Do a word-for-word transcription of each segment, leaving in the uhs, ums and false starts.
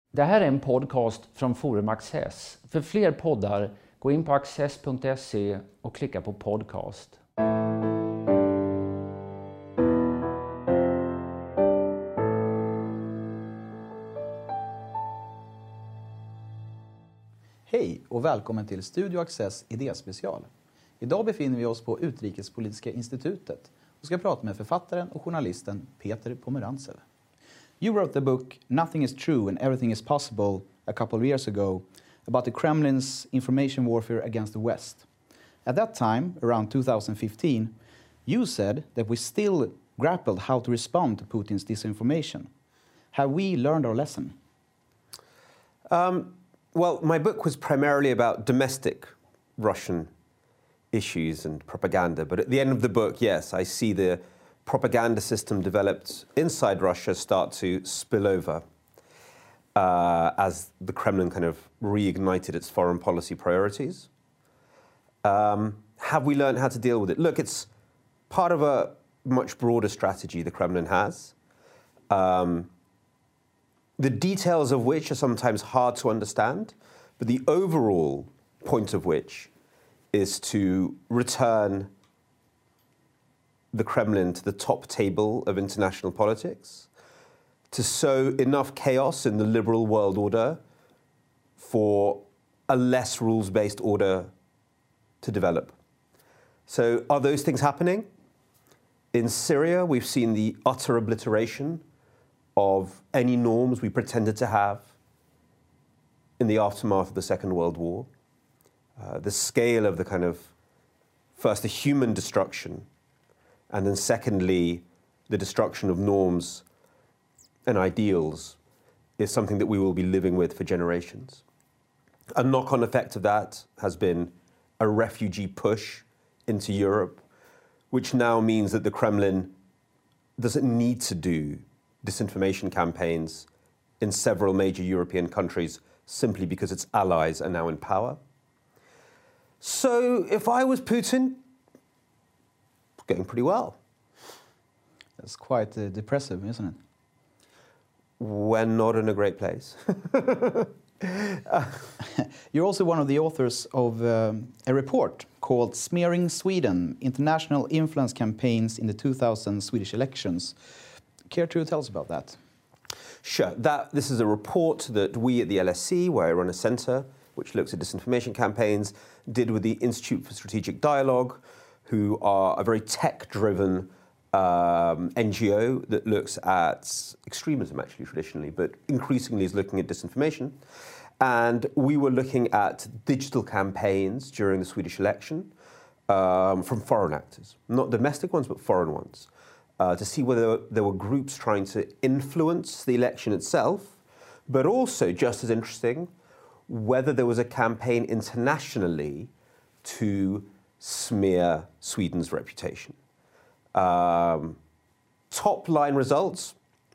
Det här är en podcast från Forum Access. För fler poddar, gå in på access punkt se och klicka på podcast. Hej och välkommen till Studio Access idéspecial. Idag befinner vi oss på Utrikespolitiska institutet och ska prata med författaren och journalisten Peter Pomerantsev. You wrote the book Nothing is True and Everything is Possible a couple of years ago about the Kremlin's information warfare against the West. At that time, around two thousand fifteen, you said that we still grappled how to respond to Putin's disinformation. Have we learned our lesson? Um, well, my book was primarily about domestic Russian issues and propaganda, but at the end of the book, yes, I see the propaganda system developed inside Russia start to spill over uh, as the Kremlin kind of reignited its foreign policy priorities. Um, have we learned how to deal with it? Look, it's part of a much broader strategy the Kremlin has, um, the details of which are sometimes hard to understand, but the overall point of which is to return the Kremlin to the top table of international politics, to sow enough chaos in the liberal world order for a less rules-based order to develop. So are those things happening? In Syria, we've seen the utter obliteration of any norms we pretended to have in the aftermath of the Second World War. Uh, the scale of the kind of, first, the human destruction, and then secondly, the destruction of norms and ideals is something that we will be living with for generations. A knock-on effect of that has been a refugee push into Europe, which now means that the Kremlin doesn't need to do disinformation campaigns in several major European countries simply because its allies are now in power. So if I was Putin, going pretty well. That's quite uh, depressive, isn't it? We're not in a great place. You're also one of the authors of um, a report called Smearing Sweden, International Influence Campaigns in the two thousand Swedish Elections. Care to tell us about that? Sure. That, this is a report that we at the L S E, where I run a centre, which looks at disinformation campaigns, did with the Institute for Strategic Dialogue, who are a very tech-driven um, N G O that looks at extremism, actually, traditionally, but increasingly is looking at disinformation. And we were looking at digital campaigns during the Swedish election um, from foreign actors, not domestic ones, but foreign ones, uh, to see whether there were groups trying to influence the election itself, but also, just as interesting, whether there was a campaign internationally to smear Sweden's reputation. Um, top line results,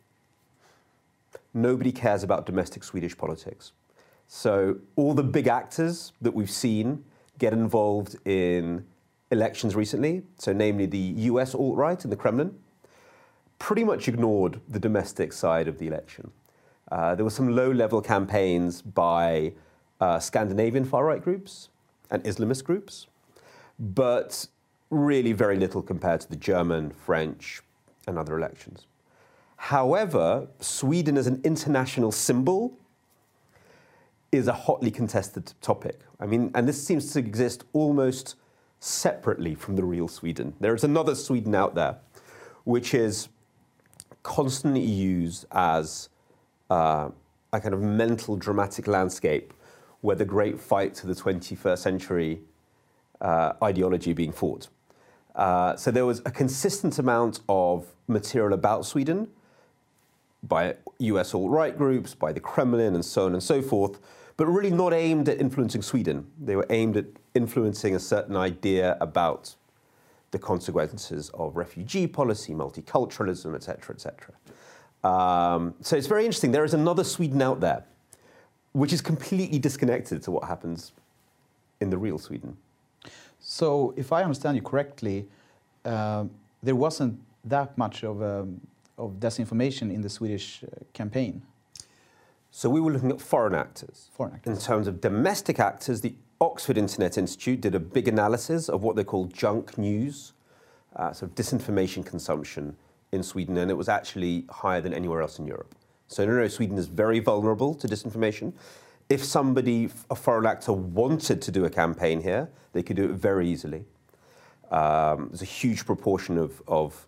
nobody cares about domestic Swedish politics. So all the big actors that we've seen get involved in elections recently, so namely the U S alt-right and the Kremlin, pretty much ignored the domestic side of the election. Uh, there were some low-level campaigns by uh, Scandinavian far-right groups and Islamist groups, but really very little compared to the German, French, and other elections. However, Sweden as an international symbol is a hotly contested topic. I mean, and this seems to exist almost separately from the real Sweden. There is another Sweden out there, which is constantly used as uh, a kind of mental dramatic landscape where the great fight to the twenty-first century uh, ideology being fought. Uh, so there was a consistent amount of material about Sweden by U S alt-right groups, by the Kremlin, and so on and so forth, but really not aimed at influencing Sweden. They were aimed at influencing a certain idea about the consequences of refugee policy, multiculturalism, et cetera, et cetera. Um, so it's very interesting. There is another Sweden out there, which is completely disconnected to what happens in the real Sweden. So, if I understand you correctly, uh, there wasn't that much of, um, of disinformation in the Swedish uh, campaign. So we were looking at foreign actors. Foreign actors. In terms of domestic actors, the Oxford Internet Institute did a big analysis of what they call junk news, uh, sort of disinformation consumption in Sweden, and it was actually higher than anywhere else in Europe. So no, no, Sweden is very vulnerable to disinformation. If somebody, a foreign actor, wanted to do a campaign here, they could do it very easily. Um, there's a huge proportion of, of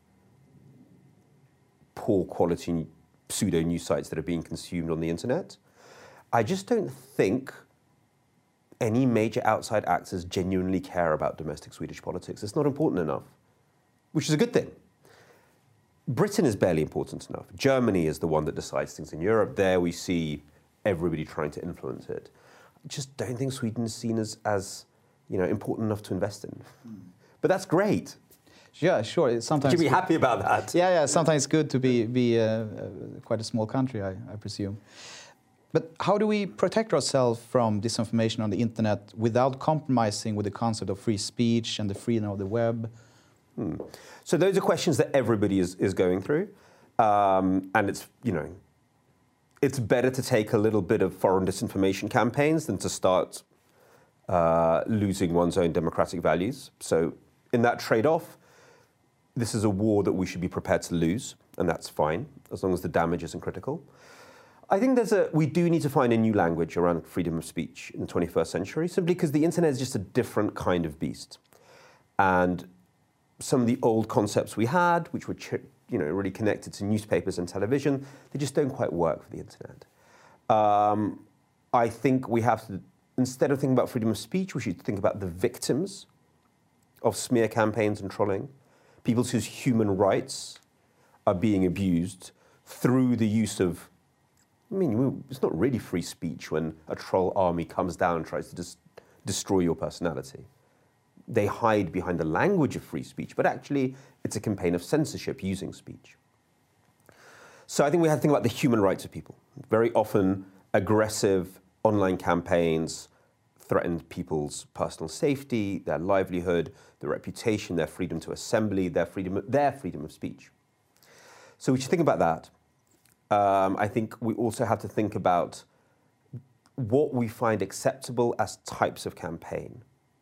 poor quality pseudo news sites that are being consumed on the internet. I just don't think any major outside actors genuinely care about domestic Swedish politics. It's not important enough, which is a good thing. Britain is barely important enough. Germany is the one that decides things in Europe. There we see everybody trying to influence it. I just don't think Sweden is seen as, as you know, important enough to invest in. Mm. But that's great. Yeah, sure. It's sometimes you should be happy about that. Yeah, yeah. Sometimes it's good to be be uh, uh, quite a small country, I, I presume. But how do we protect ourselves from disinformation on the internet without compromising with the concept of free speech and the freedom of the web? Hmm. So those are questions that everybody is, is going through, um, and it's you know, it's better to take a little bit of foreign disinformation campaigns than to start uh, losing one's own democratic values. So in that trade-off, this is a war that we should be prepared to lose, and that's fine as long as the damage isn't critical. I think there's a we do need to find a new language around freedom of speech in the twenty-first century, simply because the internet is just a different kind of beast, and some of the old concepts we had, which were you know really connected to newspapers and television, they just don't quite work for the internet. Um, I think we have to, instead of thinking about freedom of speech, we should think about the victims of smear campaigns and trolling, people whose human rights are being abused through the use of, I mean, it's not really free speech when a troll army comes down and tries to dis- destroy your personality. They hide behind the language of free speech, but actually it's a campaign of censorship using speech. So I think we have to think about the human rights of people. Very often, aggressive online campaigns threaten people's personal safety, their livelihood, their reputation, their freedom to assembly, their freedom, their freedom of speech. So we should think about that. Um, I think we also have to think about what we find acceptable as types of campaign.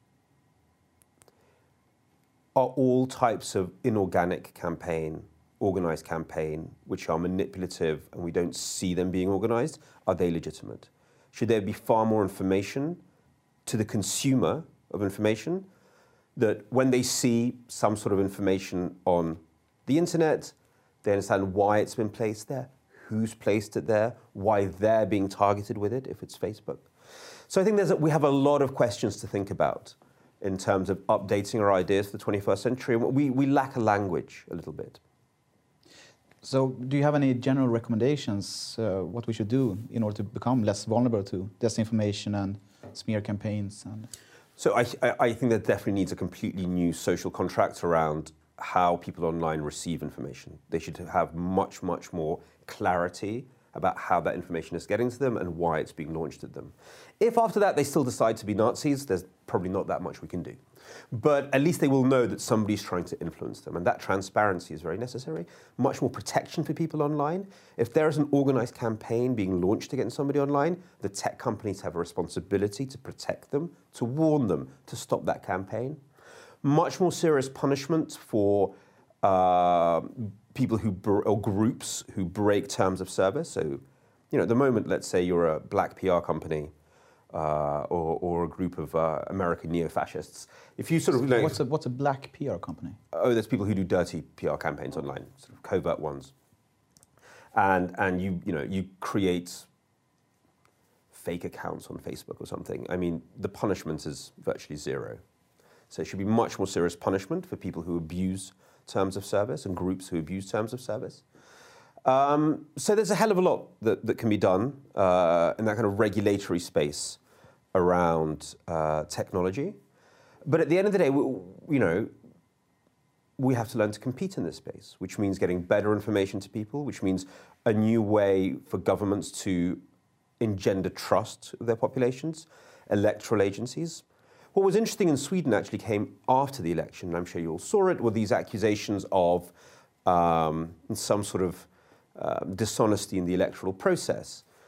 Are all types of inorganic campaign, organized campaign, which are manipulative and we don't see them being organized, are they legitimate? Should there be far more information to the consumer of information, that when they see some sort of information on the internet, they understand why it's been placed there, who's placed it there, why they're being targeted with it, if it's Facebook. So I think there's a, we have a lot of questions to think about in terms of updating our ideas for the twenty-first century. We, we lack a language a little bit. So do you have any general recommendations uh, what we should do in order to become less vulnerable to disinformation and smear campaigns? And so I, I think there definitely needs a completely new social contract around how people online receive information. They should have much, much more clarity about how that information is getting to them and why it's being launched at them. If after that they still decide to be Nazis, there's probably not that much we can do. But at least they will know that somebody's trying to influence them, and that transparency is very necessary. Much more protection for people online. If there is an organized campaign being launched against somebody online, the tech companies have a responsibility to protect them, to warn them, to stop that campaign. Much more serious punishment for uh, people who, or groups who break terms of service. So, you know, at the moment, let's say you're a black P R company uh, or, or a group of uh, American neo-fascists. If you sort of, you know, what's a what's a black P R company? Oh, there's people who do dirty P R campaigns online, sort of covert ones. And and you you know you create fake accounts on Facebook or something. I mean, the punishment is virtually zero. So it should be much more serious punishment for people who abuse terms of service and groups who abuse terms of service. Um, so there's a hell of a lot that, that can be done uh, in that kind of regulatory space around uh, technology. But at the end of the day, we, you know, we have to learn to compete in this space, which means getting better information to people, which means a new way for governments to engender trust of their populations, electoral agencies. What was interesting in Sweden actually came after the election, and I'm sure you all saw it, were these accusations of um, some sort of uh, dishonesty in the electoral process.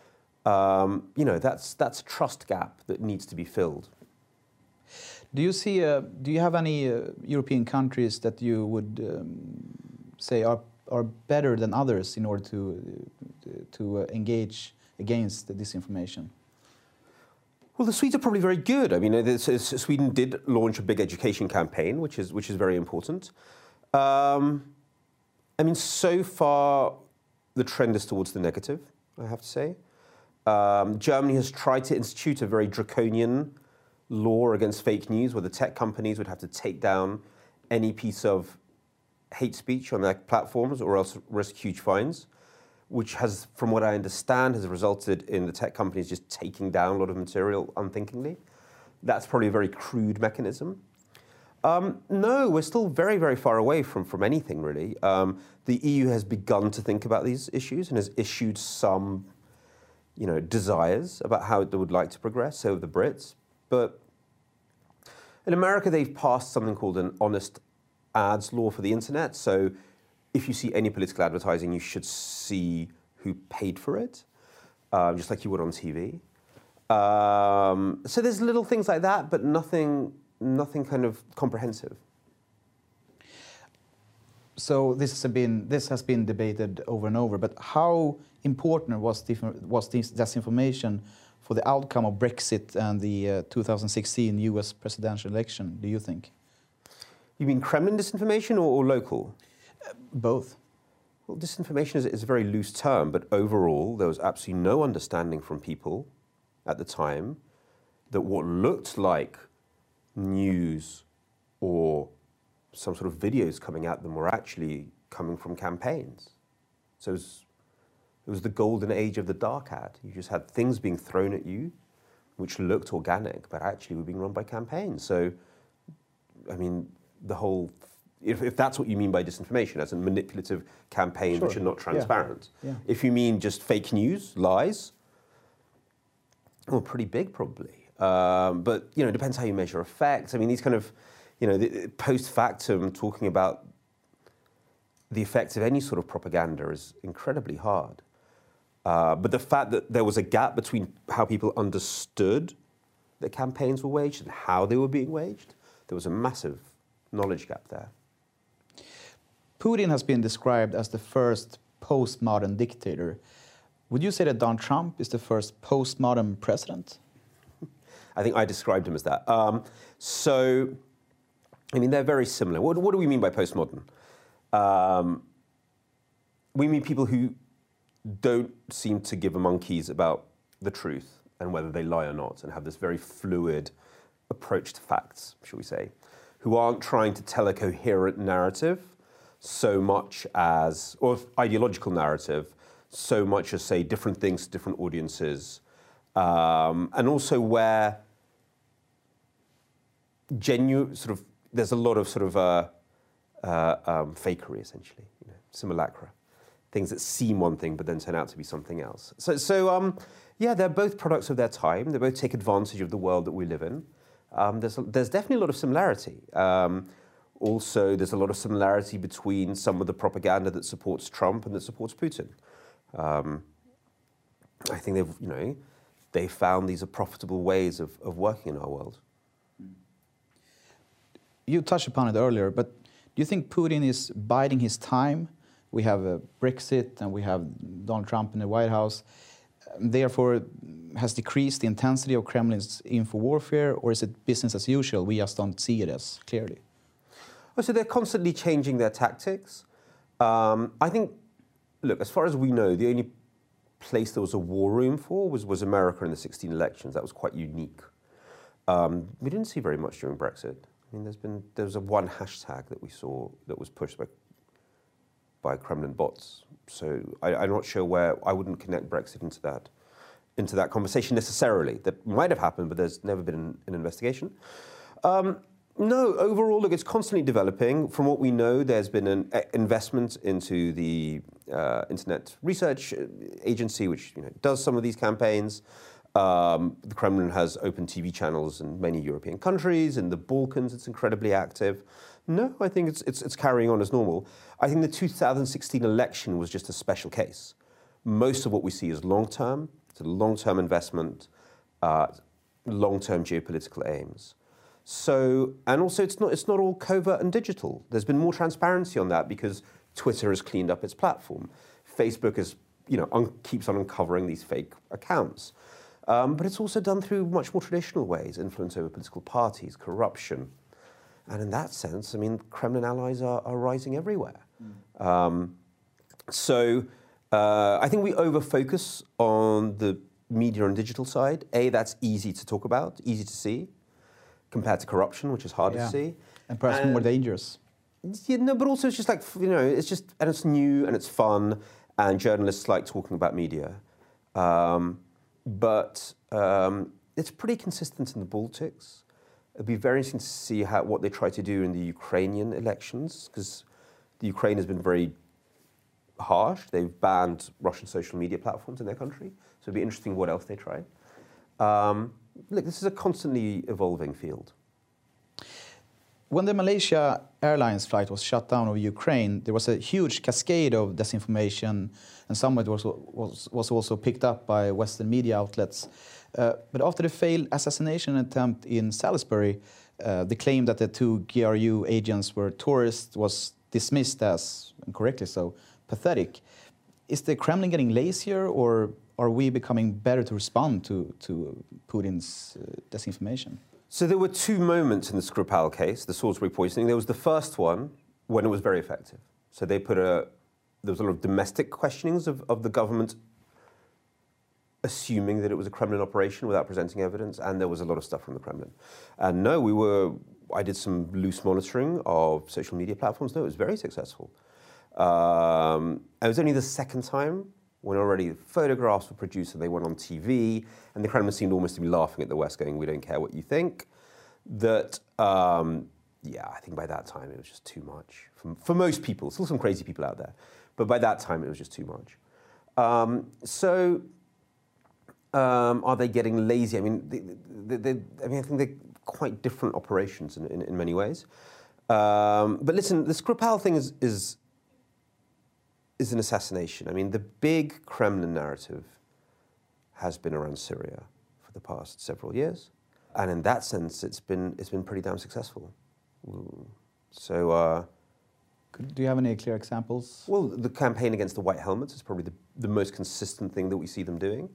Um, you know, that's that's a trust gap that needs to be filled. Do you see? Uh, do you have any uh, European countries that you would um, say are are better than others in order to to uh, engage against the disinformation? Well, the Swedes are probably very good. I mean, it's, it's, Sweden did launch a big education campaign, which is which is very important. Um, I mean, so far the trend is towards the negative, I have to say. Um, Germany has tried to institute a very draconian law against fake news, where the tech companies would have to take down any piece of hate speech on their platforms or else risk huge fines, which has, from what I understand, has resulted in the tech companies just taking down a lot of material unthinkingly. That's probably a very crude mechanism. Um, no, we're still very, very far away from, from anything, really. Um, the E U has begun to think about these issues and has issued some, you know, desires about how it would like to progress, so have the Brits. But in America, they've passed something called an honest ads law for the internet. So if you see any political advertising, you should see who paid for it, um, just like you would on T V. Um, so there's little things like that, but nothing, nothing kind of comprehensive. So this has been this has been debated over and over. But how important was was this disinformation for the outcome of Brexit and the uh, two thousand sixteen U S presidential election, do you think? You mean Kremlin disinformation or, or local? Uh, both. Well, disinformation is, is a very loose term, but overall there was absolutely no understanding from people at the time that what looked like news or some sort of videos coming at them were actually coming from campaigns. So it was, it was the golden age of the dark ad. You just had things being thrown at you which looked organic, but actually were being run by campaigns. So, I mean, the whole, if, if that's what you mean by disinformation, as a manipulative campaign sure. which are not transparent. Yeah. Yeah. If you mean just fake news, lies, well, pretty big probably. Um, but, you know, it depends how you measure effects. I mean, these kind of, you know, the, post factum talking about the effects of any sort of propaganda is incredibly hard. Uh, but the fact that there was a gap between how people understood that campaigns were waged and how they were being waged, there was a massive knowledge gap there. Putin has been described as the first postmodern dictator. Would you say that Donald Trump is the first postmodern president? I think I described him as that. Um, so, I mean, they're very similar. What, what do we mean by postmodern? Um, we mean people who don't seem to give a monkeys about the truth and whether they lie or not, and have this very fluid approach to facts, shall we say, who aren't trying to tell a coherent narrative so much as, or ideological narrative, so much as say different things to different audiences, um, and also where genuine sort of there's a lot of sort of uh, uh, um, fakery, essentially, you know, simulacra, things that seem one thing but then turn out to be something else. So, so um, yeah, they're both products of their time. They both take advantage of the world that we live in. Um, there's a, there's definitely a lot of similarity. Um, also, there's a lot of similarity between some of the propaganda that supports Trump and that supports Putin. Um, I think they've, you know, they found these are profitable ways of, of working in our world. You touched upon it earlier, but do you think Putin is biding his time? We have uh, Brexit and we have Donald Trump in the White House. Um, therefore, has decreased the intensity of Kremlin's info warfare, or is it business as usual? We just don't see it as clearly. Oh, so they're constantly changing their tactics. Um, I think, look, as far as we know, the only place there was a war room for was, was America in the sixteen elections. That was quite unique. Um, we didn't see very much during Brexit. I mean, there's been there was a one hashtag that we saw that was pushed by by Kremlin bots. So I, I'm not sure where I wouldn't connect Brexit into that into that conversation necessarily. That might have happened, but there's never been an, an investigation. Um, no, overall, look, it's constantly developing. From what we know, there's been an investment into the uh, Internet Research Agency, which you know does some of these campaigns. Um, the Kremlin has open T V channels in many European countries. In the Balkans, it's incredibly active. No, I think it's, it's, it's carrying on as normal. I think the two thousand sixteen election was just a special case. Most of what we see is long-term. to long-term investment, uh, long-term geopolitical aims. So, and also it's not, it's not all covert and digital. There's been more transparency on that because Twitter has cleaned up its platform. Facebook is, you know, un- keeps on uncovering these fake accounts. Um, but it's also done through much more traditional ways, influence over political parties, corruption. And in that sense, I mean, Kremlin allies are, are rising everywhere. Mm. Um, so uh, I think we over-focus on the media and digital side. A, that's easy to talk about, easy to see, compared to corruption, which is harder yeah. to see. And perhaps and, more dangerous. Yeah, no, but also it's just like, you know, it's just, and it's new and it's fun, and journalists like talking about media. Um, but um, it's pretty consistent in the Baltics. It'd be very interesting to see how, what they try to do in the Ukrainian elections, because the Ukraine has been very harsh. They've banned Russian social media platforms in their country. So it'd be interesting what else they try. Um, look, this is a constantly evolving field. When the Malaysia Airlines flight was shut down over Ukraine, there was a huge cascade of disinformation, and some of it was, was, was also picked up by Western media outlets. Uh, but after the failed assassination attempt in Salisbury, uh, the claim that the two G R U agents were tourists was dismissed as, and correctly so, pathetic. Is the Kremlin getting lazier, or are we becoming better to respond to, to Putin's uh, disinformation? So there were two moments in the Skripal case, the Salisbury poisoning. There was the first one when it was very effective. So they put a, there was a lot of domestic questionings of, of the government assuming that it was a Kremlin operation without presenting evidence, and there was a lot of stuff from the Kremlin. And no, we were, I did some loose monitoring of social media platforms. No, it was very successful. Um, it was only the second time when already photographs were produced and they went on T V, and the Kremlin seemed almost to be laughing at the West, going, we don't care what you think, that, um, yeah, I think by that time it was just too much. For, for most people, still some crazy people out there, but by that time it was just too much. Um, so, um, are they getting lazy? I mean, they, they, they, I mean, I think they're quite different operations in, in, in many ways. Um, but listen, the Skripal thing is, is is an assassination. I mean, the big Kremlin narrative has been around Syria for the past several years, and in that sense, it's been it's been pretty damn successful. So, uh, do you have any clear examples? Well, the campaign against the White Helmets is probably the, the most consistent thing that we see them doing,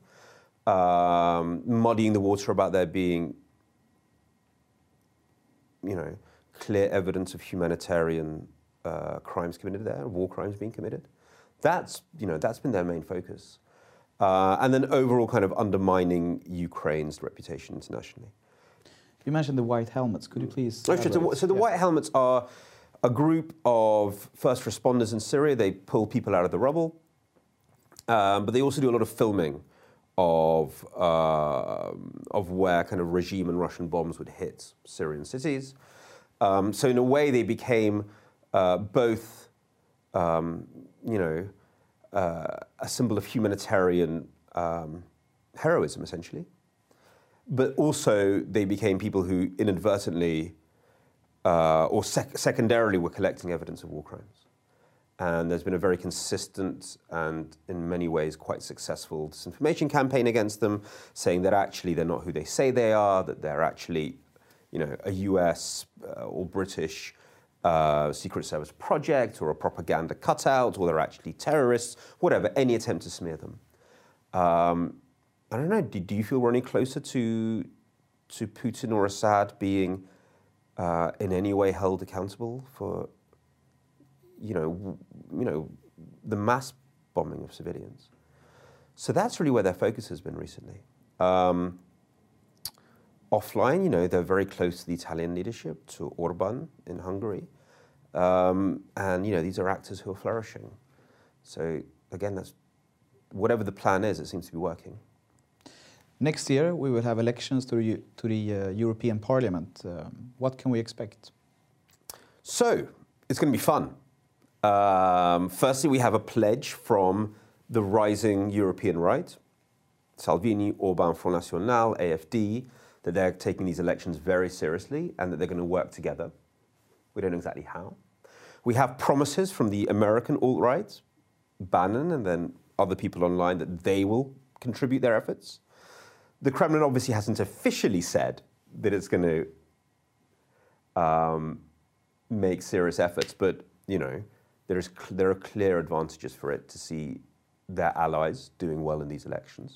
um, muddying the water about there being, you know, clear evidence of humanitarian uh, crimes committed there, war crimes being committed. That's, you know, that's been their main focus. Uh, and then overall kind of undermining Ukraine's reputation internationally. You mentioned the White Helmets. Could you please... Oh, sure. So, so the yeah. White Helmets are a group of first responders in Syria. They pull people out of the rubble. Um, but they also do a lot of filming of, uh, of where kind of regime and Russian bombs would hit Syrian cities. Um, so in a way, they became uh, both... Um, you know, uh, a symbol of humanitarian um, heroism, essentially. But also they became people who inadvertently uh, or sec- secondarily were collecting evidence of war crimes. And there's been a very consistent and in many ways quite successful disinformation campaign against them, saying that actually they're not who they say they are, that they're actually, you know, a U S uh, or British Uh, Secret Service project or a propaganda cutout, or they're actually terrorists, whatever, any attempt to smear them. Um, I don't know, do, do you feel we're any closer to, to Putin or Assad being uh, in any way held accountable for, you know, w- you know, the mass bombing of civilians? So that's really where their focus has been recently. Um, Offline, you know, they're very close to the Italian leadership, to Orban in Hungary. Um, and, you know, these are actors who are flourishing. So, again, that's whatever the plan is, it seems to be working. Next year, we will have elections to the, to the uh, European Parliament. Um, what can we expect? So, it's going to be fun. Um, firstly, we have a pledge from the rising European right, Salvini, Orban, Front National, A F D, that they're taking these elections very seriously and that they're going to work together. We don't know exactly how. We have promises from the American alt-right, Bannon, and then other people online that they will contribute their efforts. The Kremlin obviously hasn't officially said that it's going to um, make serious efforts, but you know, there's there are clear advantages for it to see their allies doing well in these elections.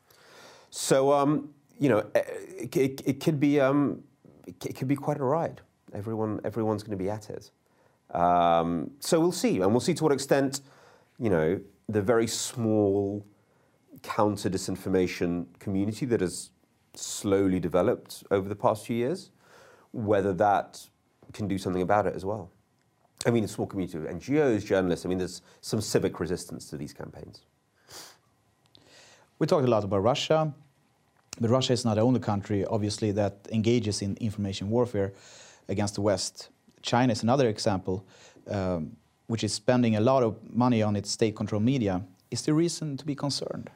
So um, you know, it, it, it could be um, it could be quite a ride. Everyone everyone's going to be at it. Um, so we'll see, and we'll see to what extent, you know, the very small counter disinformation community that has slowly developed over the past few years, whether that can do something about it as well. I mean, a small community of N G Os, journalists, I mean, there's some civic resistance to these campaigns. We talked a lot about Russia, but Russia is not the only country, obviously, that engages in information warfare against the West. China is another example, um, which is spending a lot of money on its state-controlled media. Is there reason to be concerned?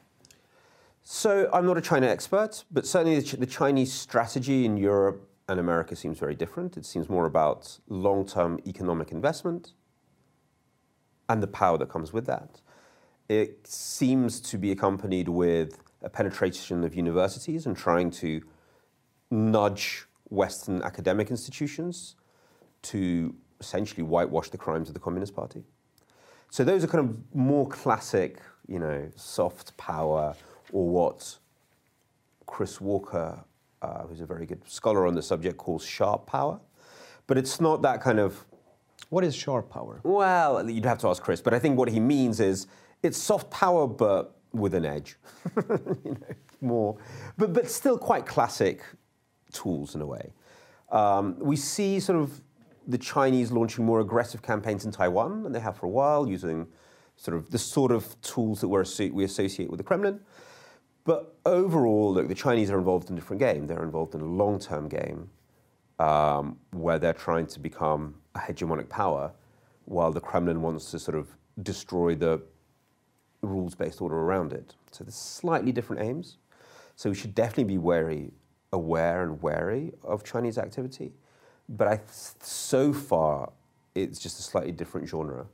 So I'm not a China expert, but certainly the, Ch the Chinese strategy in Europe and America seems very different. It seems more about long-term economic investment and the power that comes with that. It seems to be accompanied with a penetration of universities and trying to nudge Western academic institutions to essentially whitewash the crimes of the Communist Party. So those are kind of more classic, you know, soft power, or what Chris Walker, uh, who's a very good scholar on the subject, calls sharp power. But it's not that kind of... What is sharp power? Well, you'd have to ask Chris, but I think what he means is it's soft power, but with an edge. you know, more, but, but still quite classic tools in a way. Um, we see sort of the Chinese launching more aggressive campaigns in Taiwan, and they have for a while, using sort of the sort of tools that we're, we associate with the Kremlin. But overall, look, the Chinese are involved in a different game. They're involved in a long-term game um, where they're trying to become a hegemonic power, while the Kremlin wants to sort of destroy the rules-based order around it. So there's slightly different aims. So we should definitely be wary, aware and wary of Chinese activity. But I, so far, it's just a slightly different genre.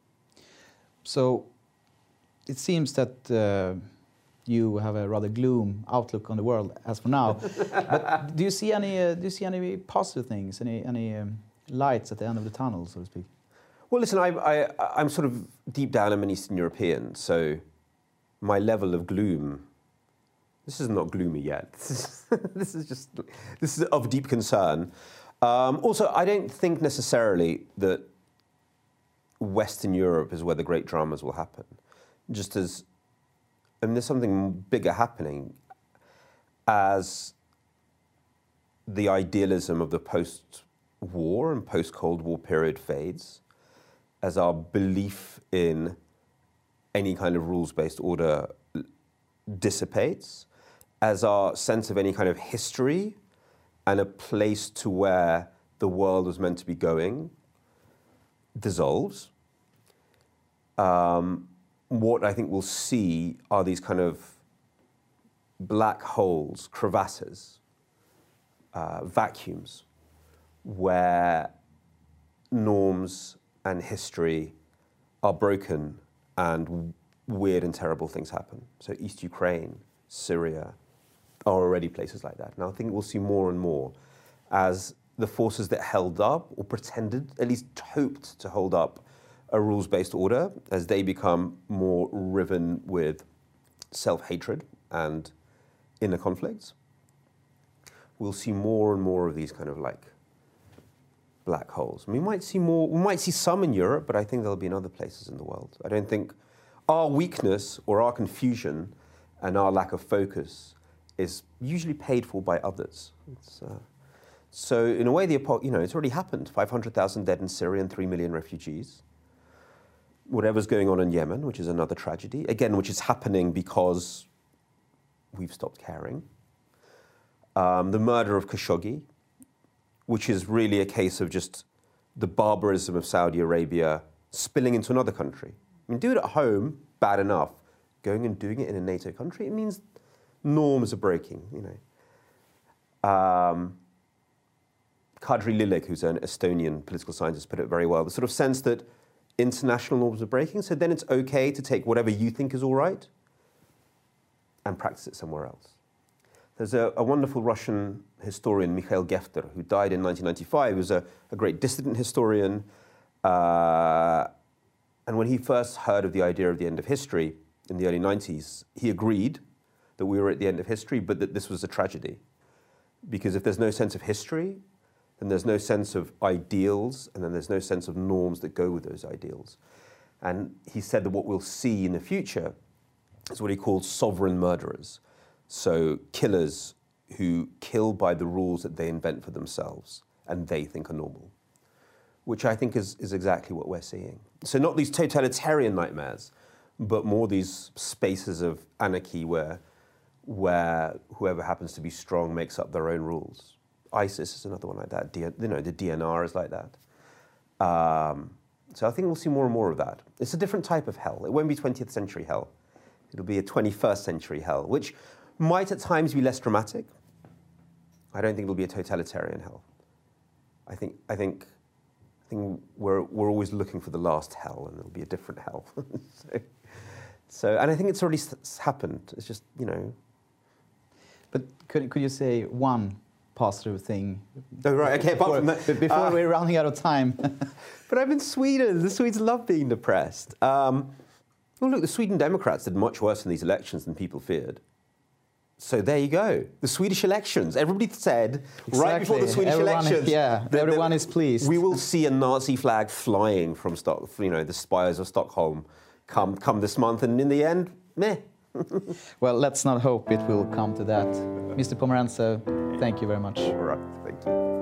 So it seems that uh, you have a rather gloom outlook on the world as for now. But do you see any? Uh, do you see any positive things? Any any um, lights at the end of the tunnel, so to speak? Well, listen, I, I, I'm sort of deep down, I'm an Eastern European, so my level of gloom. This is not gloomy yet. This is, this is just this is of deep concern. Um, also, I don't think necessarily that Western Europe is where the great dramas will happen. Just as, I mean, there's something bigger happening as the idealism of the post-war and post-Cold War period fades, as our belief in any kind of rules-based order dissipates, as our sense of any kind of history and a place to where the world was meant to be going dissolves. Um, what I think we'll see are these kind of black holes, crevasses, uh, vacuums, where norms and history are broken and weird and terrible things happen. So East Ukraine, Syria, are already places like that. Now I think we'll see more and more as the forces that held up, or pretended, at least hoped to hold up, a rules-based order, as they become more riven with self-hatred and inner conflicts. We'll see more and more of these kind of like black holes. We might see more, we might see some in Europe, but I think there'll be in other places in the world. I don't think our weakness or our confusion and our lack of focus is usually paid for by others. It's, uh, so in a way, the you know, it's already happened. five hundred thousand dead in Syria and three million refugees. Whatever's going on in Yemen, which is another tragedy, again, which is happening because we've stopped caring. Um, the murder of Khashoggi, which is really a case of just the barbarism of Saudi Arabia spilling into another country. I mean, do it at home, bad enough. Going and doing it in a NATO country, it means norms are breaking, you know. Um, Kadri Lilik, who's an Estonian political scientist, put it very well. The sort of sense that international norms are breaking, so then it's okay to take whatever you think is all right and practice it somewhere else. There's a, a wonderful Russian historian, Mikhail Gefter, who died in nineteen ninety-five. He was a, a great dissident historian. Uh, and when he first heard of the idea of the end of history in the early nineties, he agreed that we were at the end of history, but that this was a tragedy. Because if there's no sense of history, then there's no sense of ideals, and then there's no sense of norms that go with those ideals. And he said that what we'll see in the future is what he called sovereign murderers. So killers who kill by the rules that they invent for themselves and they think are normal, which I think is, is exactly what we're seeing. So not these totalitarian nightmares, but more these spaces of anarchy where, where whoever happens to be strong makes up their own rules. ISIS is another one like that. D- you know, the D N R is like that. Um, so I think we'll see more and more of that. It's a different type of hell. It won't be twentieth century hell. It'll be a twenty-first century hell, which might at times be less dramatic. I don't think it'll be a totalitarian hell. I think I think I think we're we're always looking for the last hell, and it'll be a different hell. so, so, and I think it's already s- happened. It's just, you know. But could could you say one positive thing? Oh, right. Okay. Before, Apart from that, before uh, we're running out of time. But I'm in Sweden. The Swedes love being depressed. Um, well, look, the Sweden Democrats did much worse in these elections than people feared. So there you go. The Swedish elections. Everybody said Exactly. right before the Swedish everyone, elections. Yeah, that, everyone that is pleased. We will see a Nazi flag flying from Stock, you know, the spires of Stockholm come come this month, and in the end, meh. Well, let's not hope it will come to that. Mister Pomerantsev, thank you very much. All right, thank you.